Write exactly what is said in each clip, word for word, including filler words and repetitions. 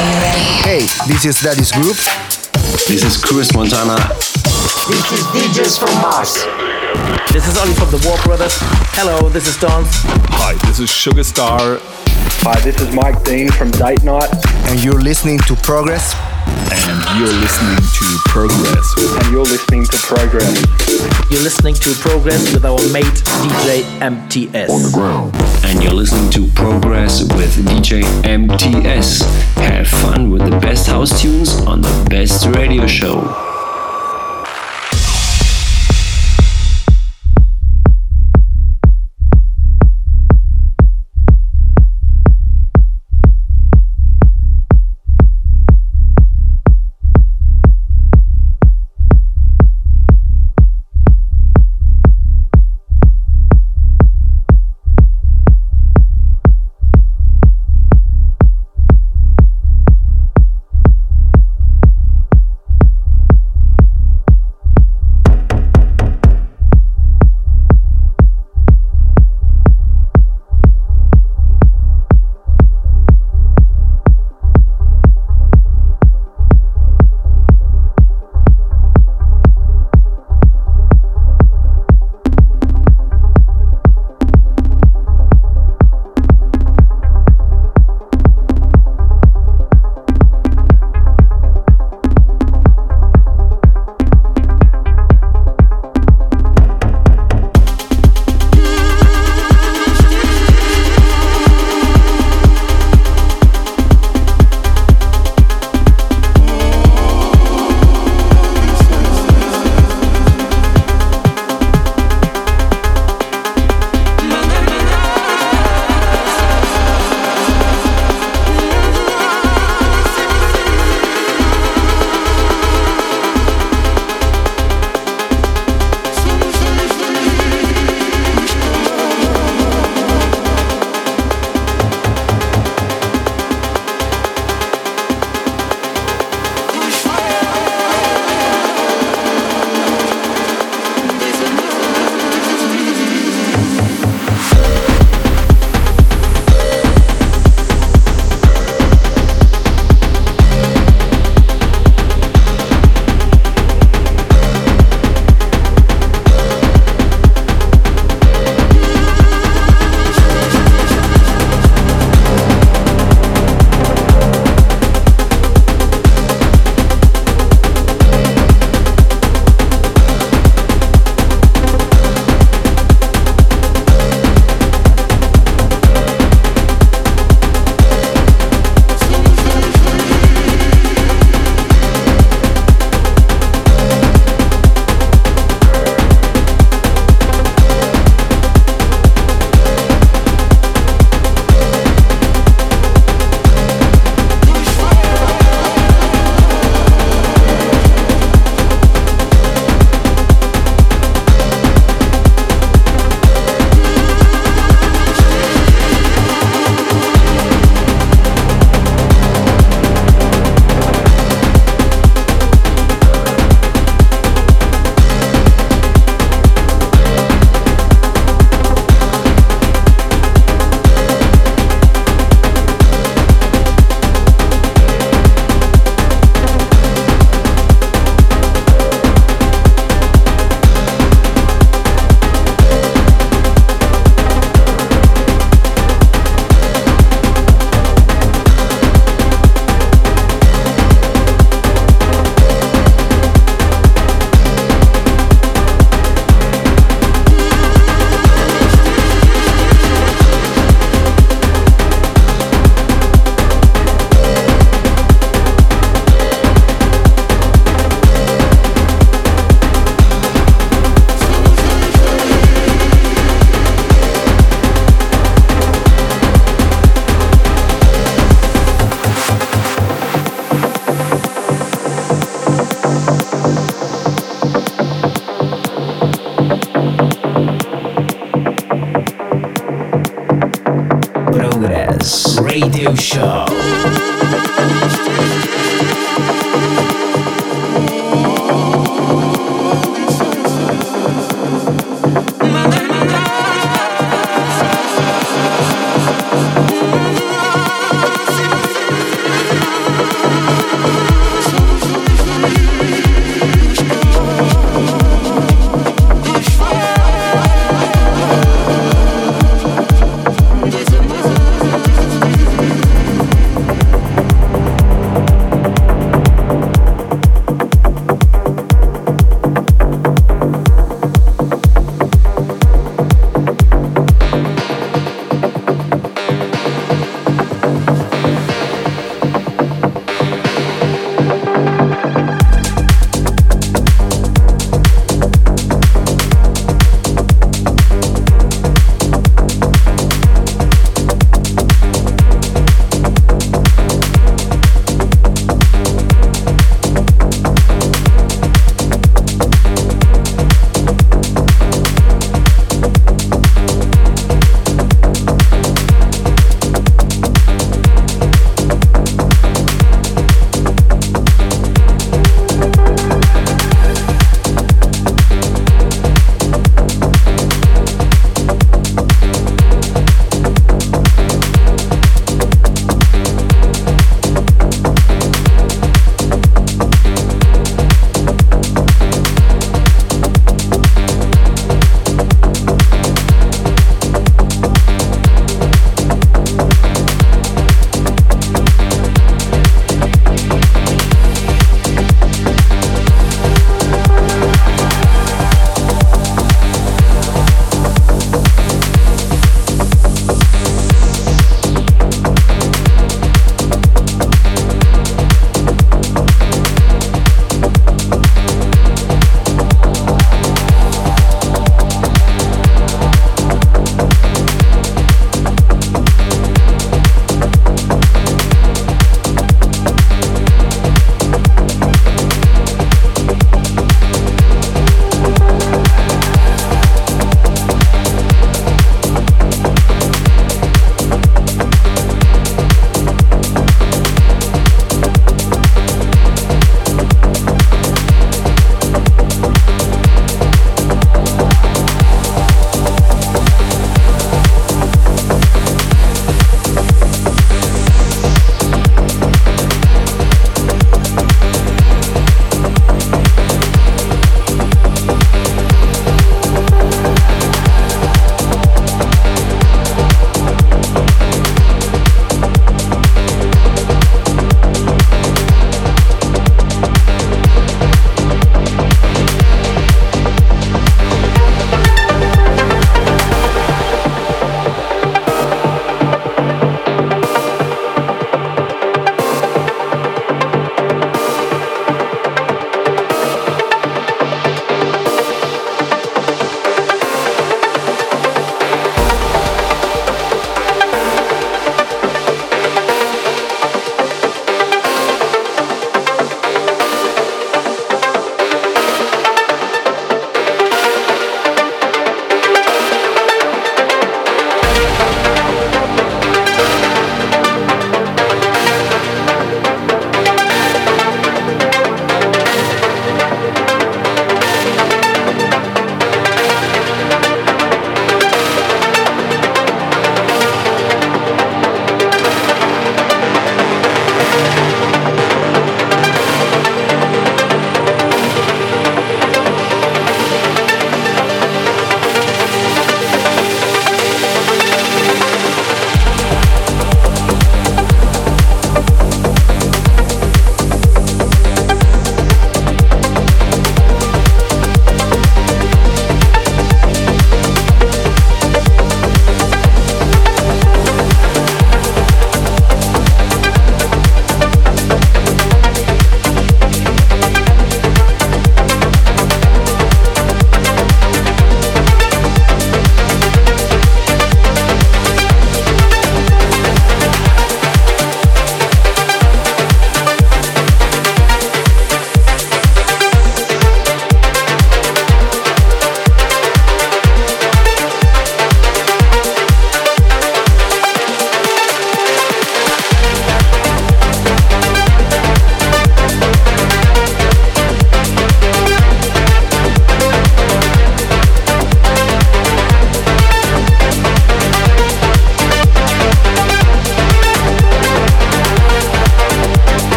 Hey, this is Daddy's Group. This is Chris Montana. This is D Js from Mars. This is Ollie from the War Brothers. Hello, this is Dance. Hi, this is Sugar Star. Hi, this is Mike Dean from Date Night. And you're listening to Progress. And you're listening to Progress. And you're listening to Progress. You're listening to Progress with our mate D J M T S. On the ground. And you're listening to Progress with D J M T S. Have fun with the best house tunes on the best radio show. Radio Show.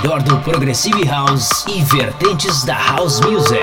melhor do Progressive House e vertentes da House Music.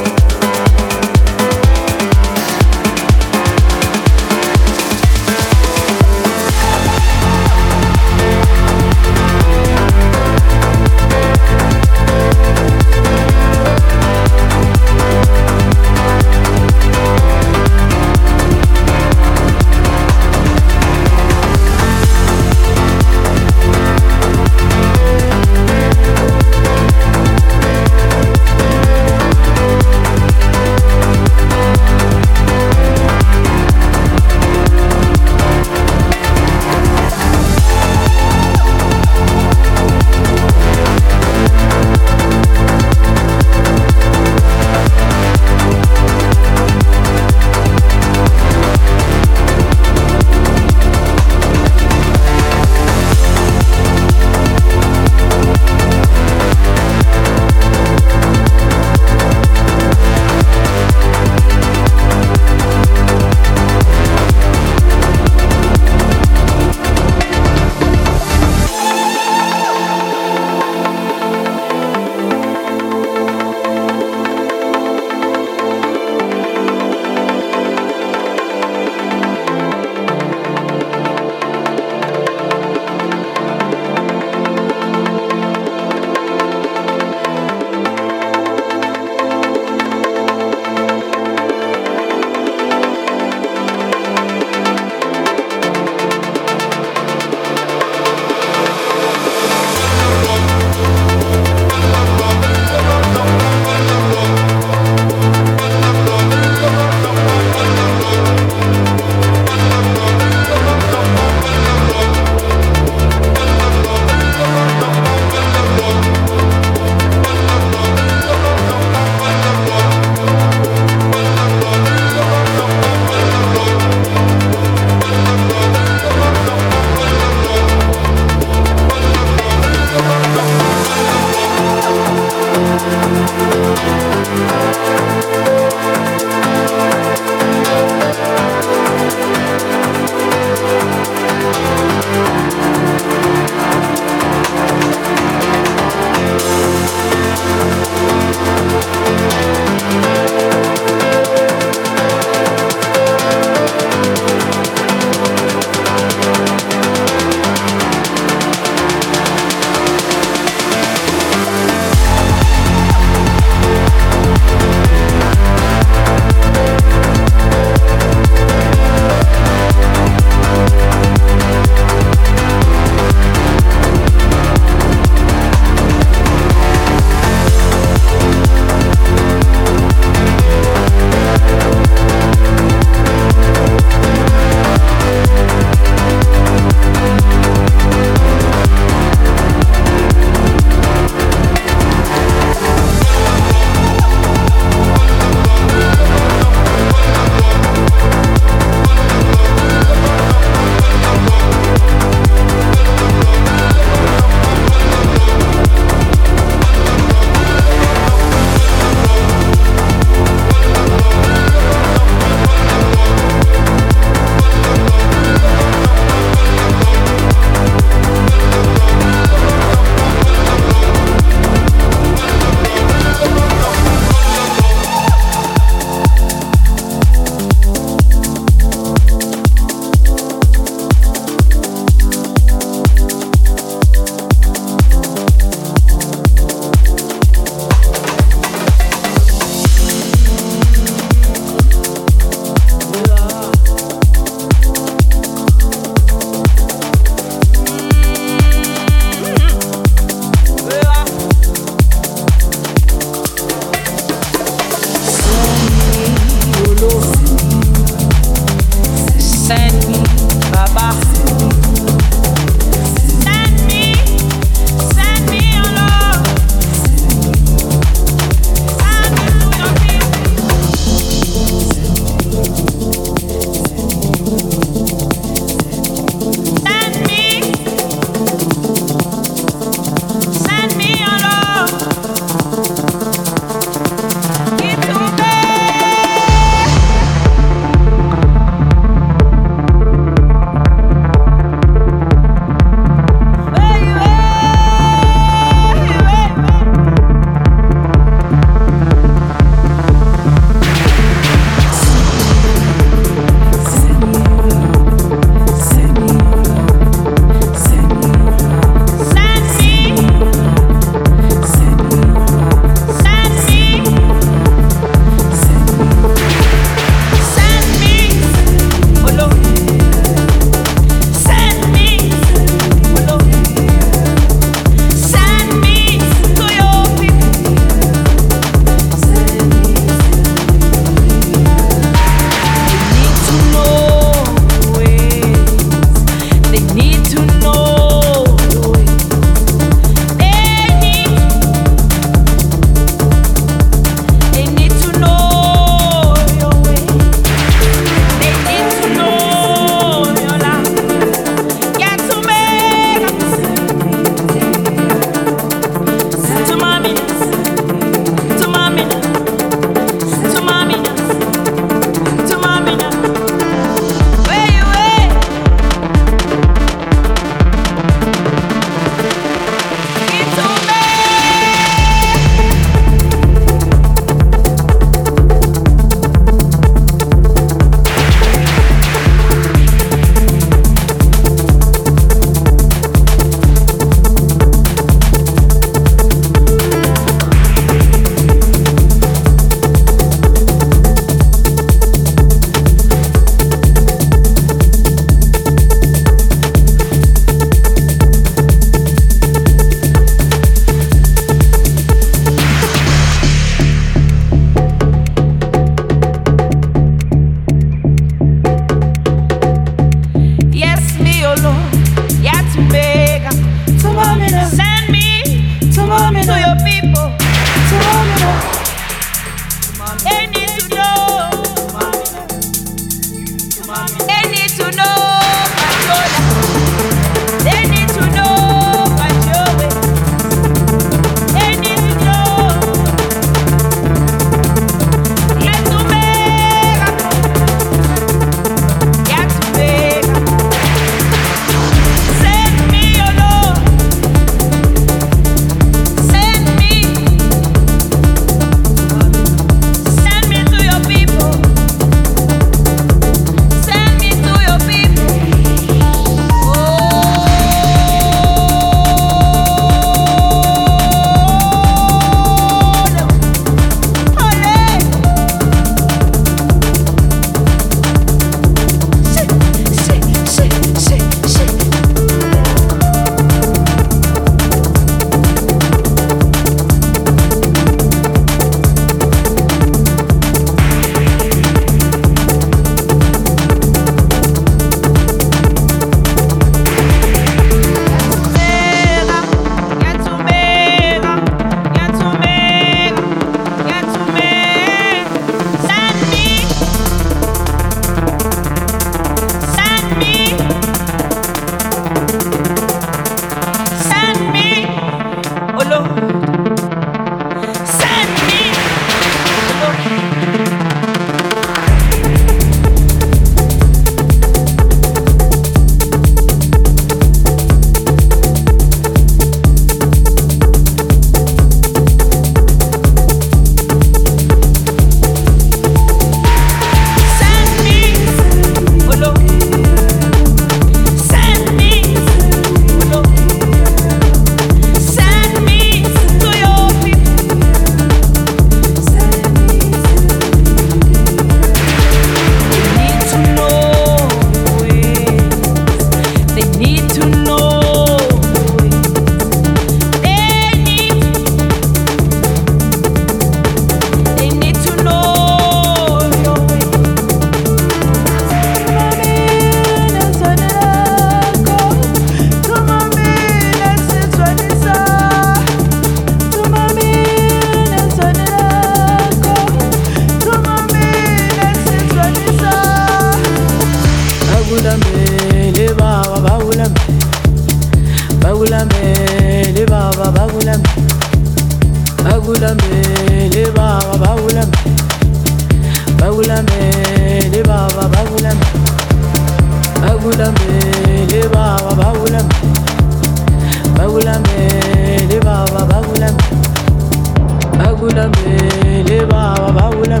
Bagulame, le baba bagulame,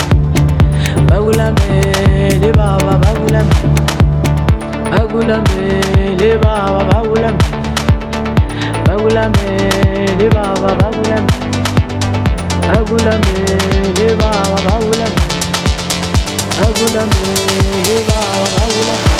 bagulame, le baba bagulame, bagulame, le baba bagulame, bagulame, le baba bagulame, bagulame, le baba bagulame, bagulame, le baba bagulame.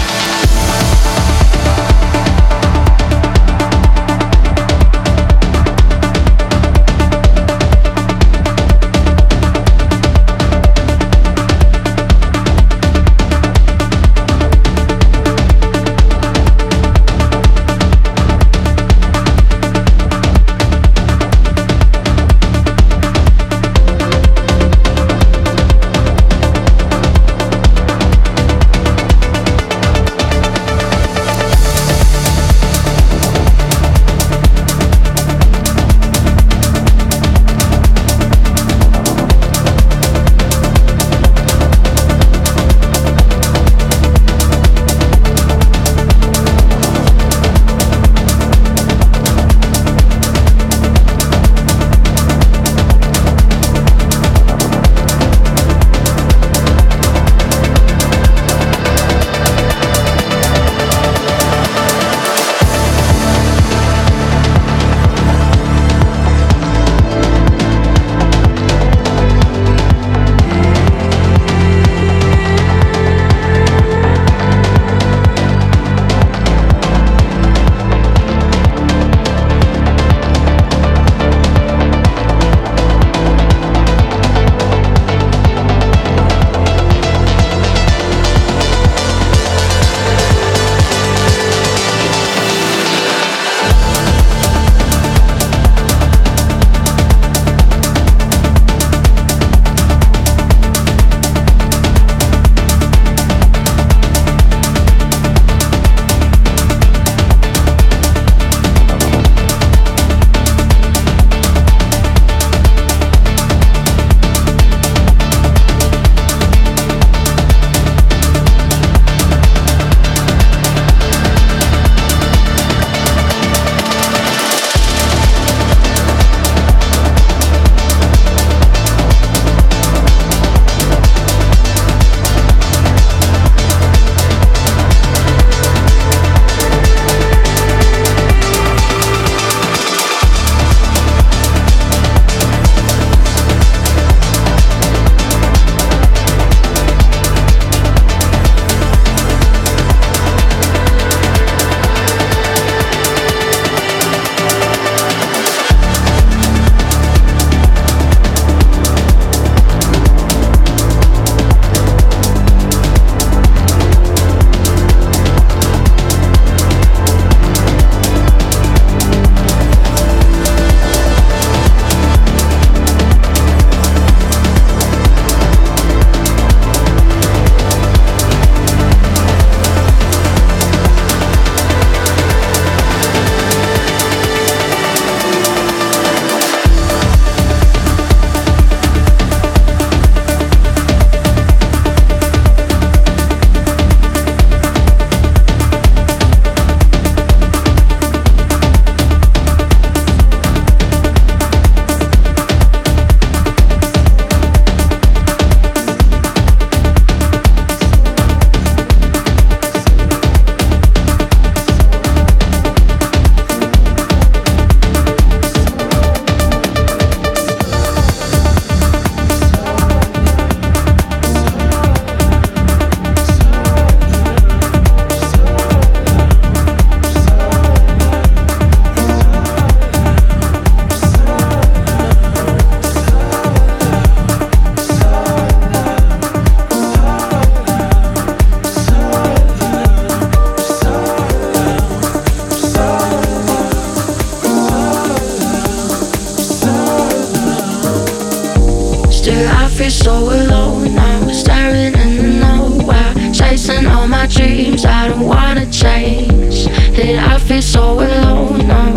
feel so alone. I was staring in nowhere, chasing all my dreams. I don't wanna change. Did I feel so alone now?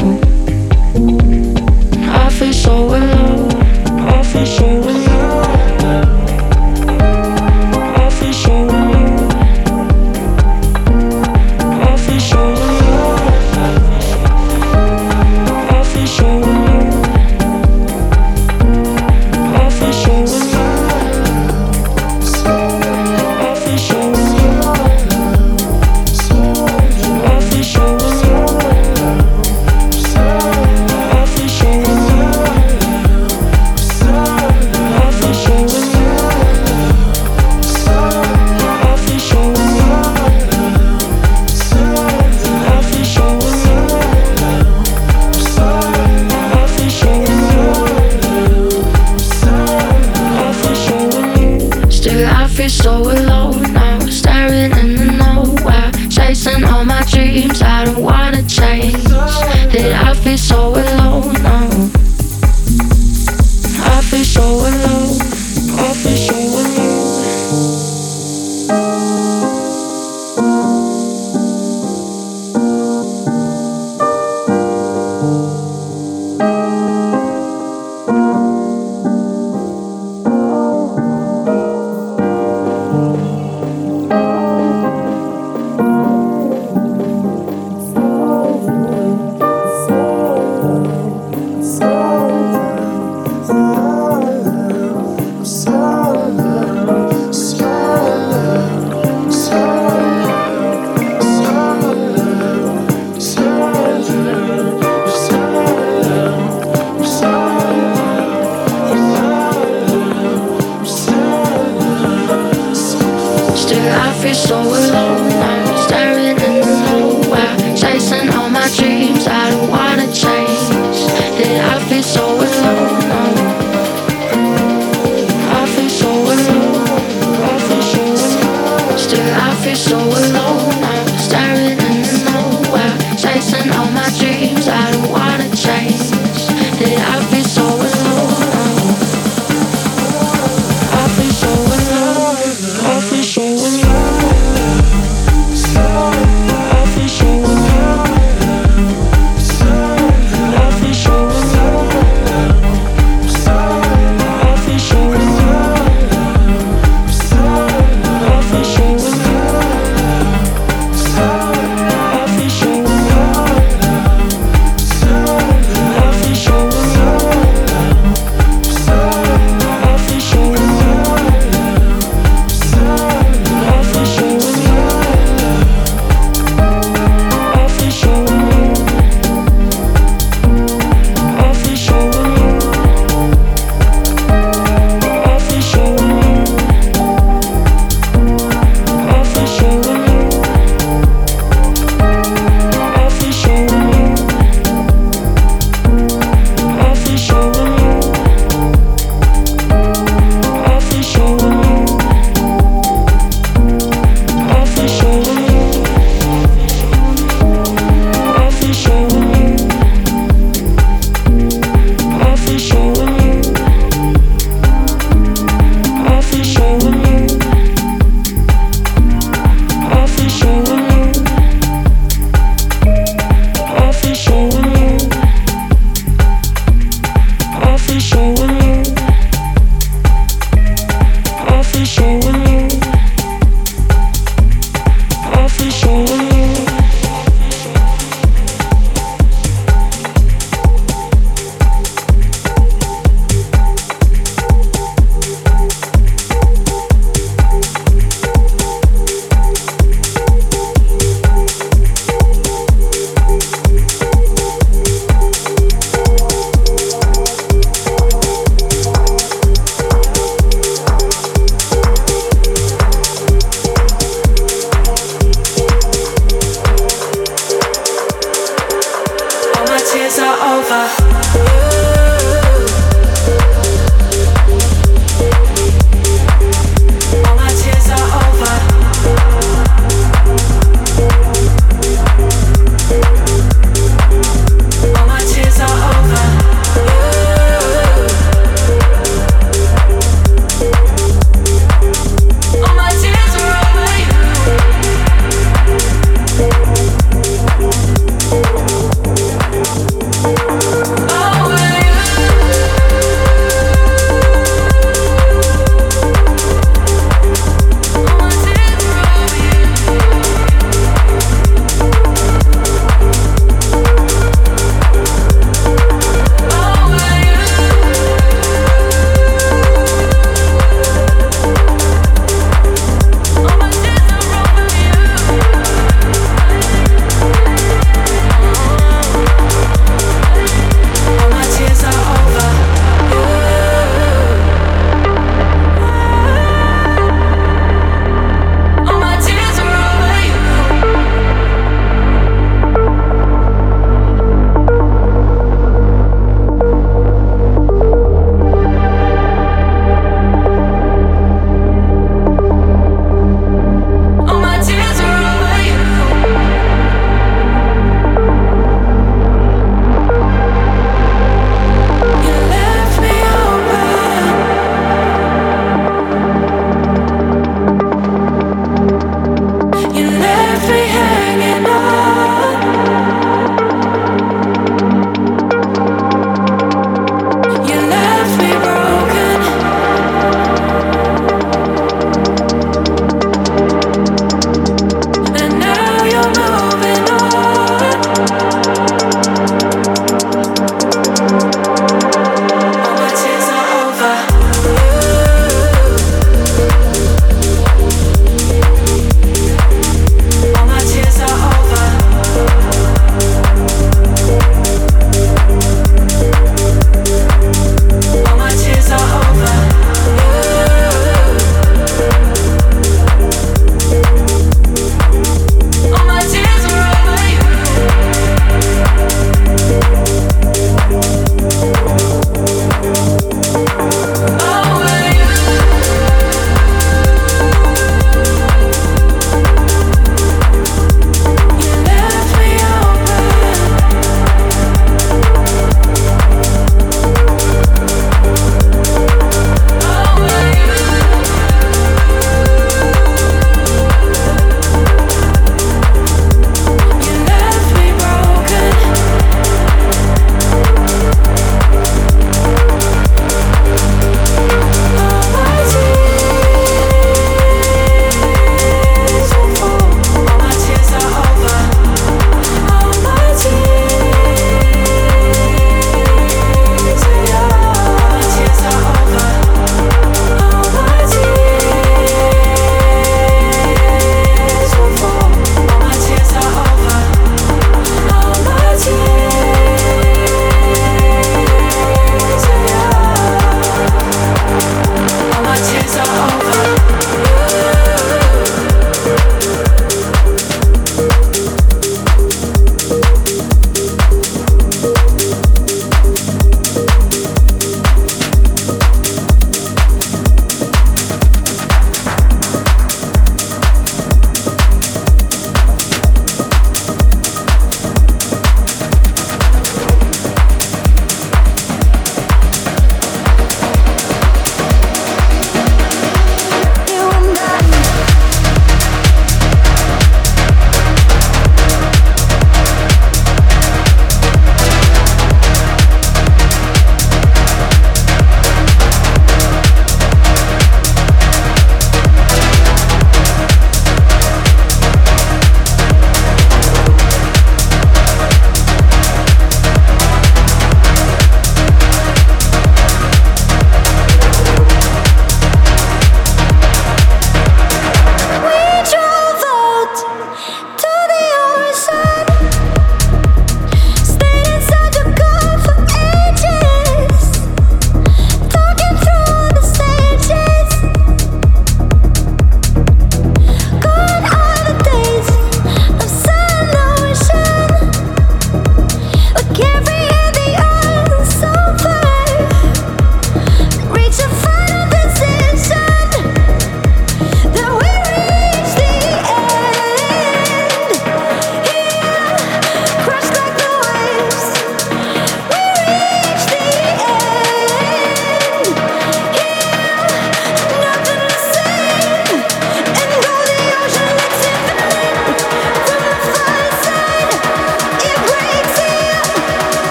I feel so alone. I feel so alone. I feel so alone. I feel so alone. I feel so alone. so alone now. I feel so alone. I feel so alone. so alone.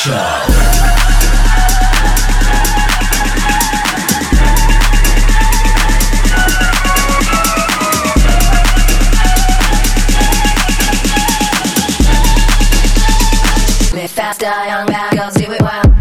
Show. Live faster, young bad girls do it well.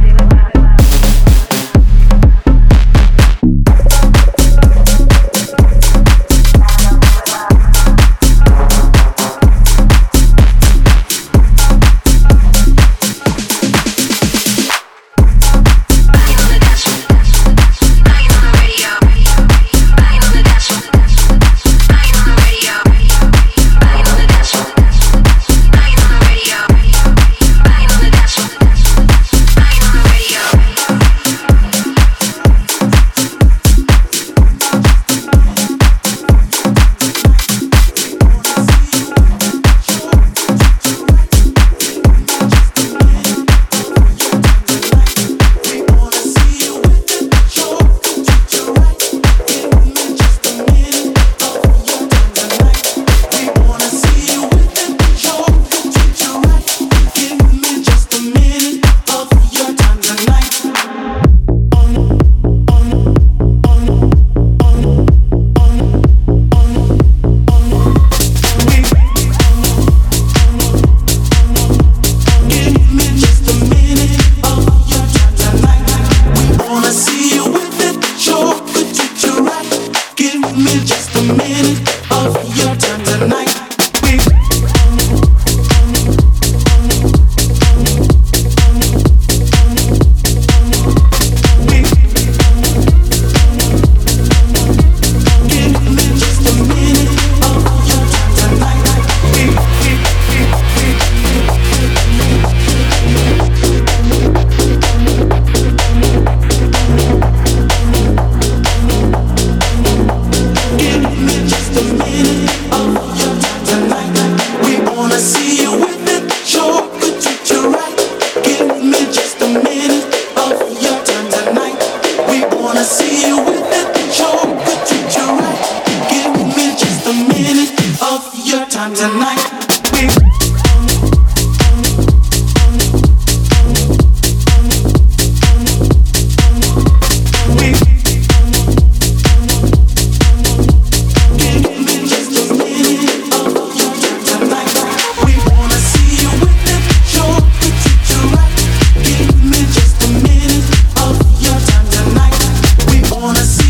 Wanna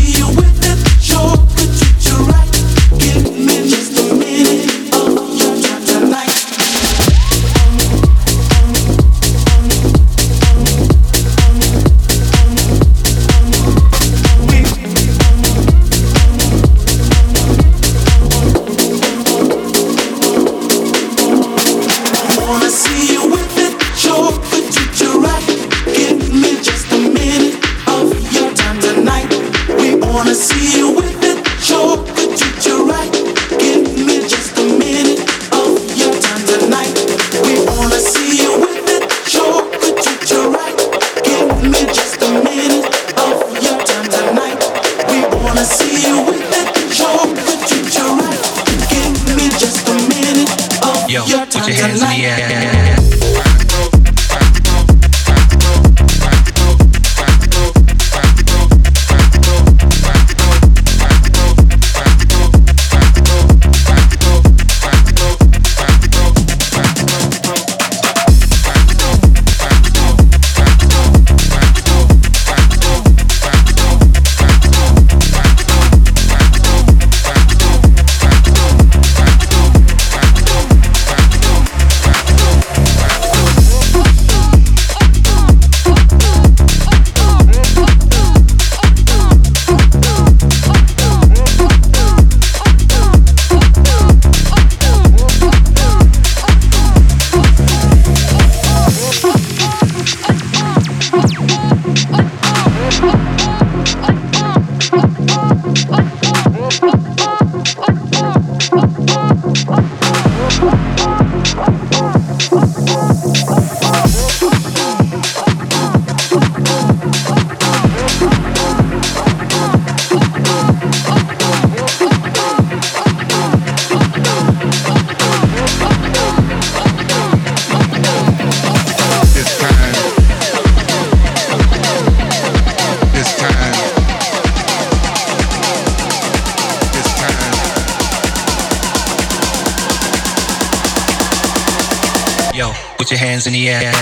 put your hands in the air.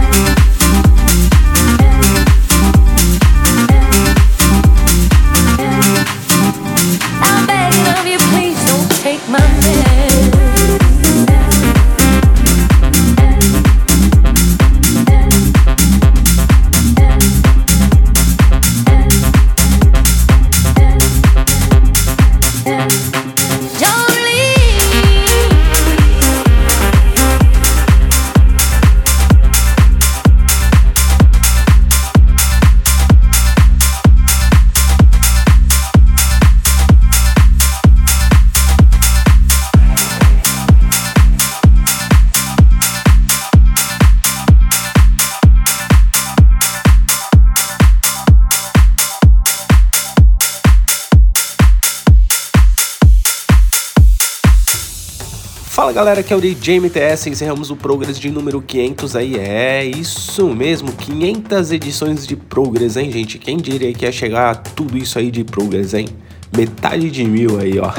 Yeah. Fala galera, aqui é o D J M T S, encerramos o Progress de número quinhentos aí, é isso mesmo, quinhentas edições de Progress, hein gente, quem diria que ia chegar a tudo isso aí de Progress, hein? Metade de mil aí, ó.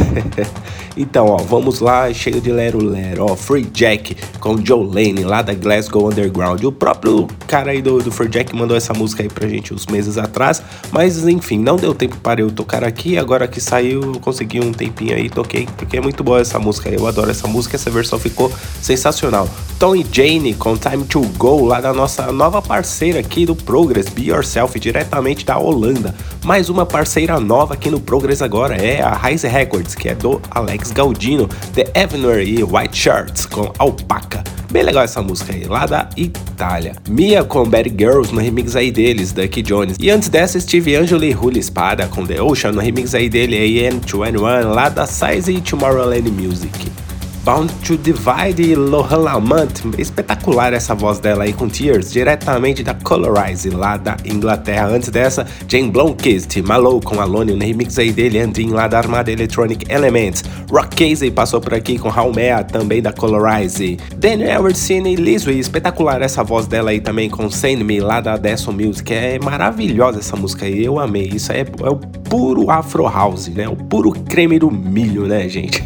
Então, ó, vamos lá, chega de lero lero, ó, Free Jack com Joe Lane, lá da Glasgow Underground. O próprio cara aí do, do Free Jack mandou essa música aí pra gente uns meses atrás, mas enfim, não deu tempo para eu tocar aqui, agora que saiu eu consegui um tempinho aí, toquei, porque é muito boa essa música aí, eu adoro essa música, essa versão ficou sensacional. Tom e Jane com Time to Go, lá da nossa nova parceira aqui do Progress, Be Yourself, diretamente da Holanda. Mais uma parceira nova aqui no Progress agora é a Rise Records, que é do Alex Gaudino, The Avenue e White Shirts com Alpaca. Bem legal essa música aí, lá da Itália. Mia com Bad Girls no remix aí deles, Ducky Jones. E antes dessa, Steve Angelo e Julio Espada com The Ocean no remix aí dele, A M vinte e um, lá da Size e Tomorrowland Music. Bound to Divide e Lohan Lamont, espetacular essa voz dela aí com Tears, diretamente da Colorize, lá da Inglaterra. Antes dessa, Jane Blomqvist, Malo com Alone, no remix aí dele, Andin, lá da Armada Electronic Elements. Rock Casey passou por aqui com Haumea, também da Colorize. Daniel Eversine e Lizzie, espetacular essa voz dela aí também com Send Me, lá da Deson Music. É maravilhosa essa música aí, eu amei. Isso é, é o puro Afro House, né? O puro creme do milho, né, gente?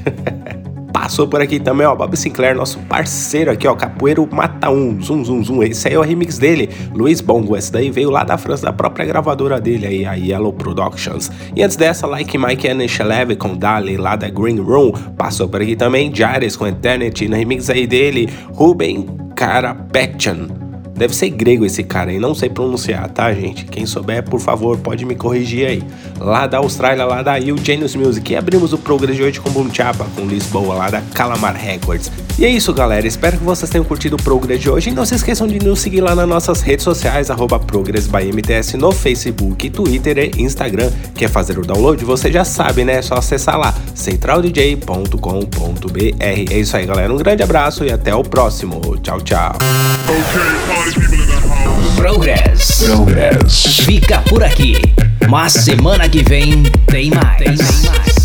Passou por aqui também, ó, Bob Sinclair, nosso parceiro aqui, ó, Capoeiro Mata um, zum, zum, zum, esse aí é o remix dele, Luiz Bongo, esse daí veio lá da França, da própria gravadora dele aí, a Yellow Productions. E antes dessa, Like Mike and Shalev com Dali, lá da Green Room, passou por aqui também, Jairus com Eternity, no remix aí dele, Ruben Karapetian. Deve ser grego esse cara aí, não sei pronunciar, tá, gente? Quem souber, por favor, pode me corrigir aí. Lá da Austrália, lá da Eugenius Music. E abrimos o Progress de hoje com Boom Chapa, com Lisboa, lá da Calamar Records. E é isso, galera. Espero que vocês tenham curtido o Progress de hoje. E não se esqueçam de nos seguir lá nas nossas redes sociais, arroba Progress by M T S, no Facebook, Twitter e Instagram. Quer fazer o download? Você já sabe, né? É só acessar lá, central d j ponto com ponto b r. É isso aí, galera. Um grande abraço e até o próximo. Tchau, tchau. Progress. Progress. Fica por aqui. Mas semana que vem tem mais. Tem mais.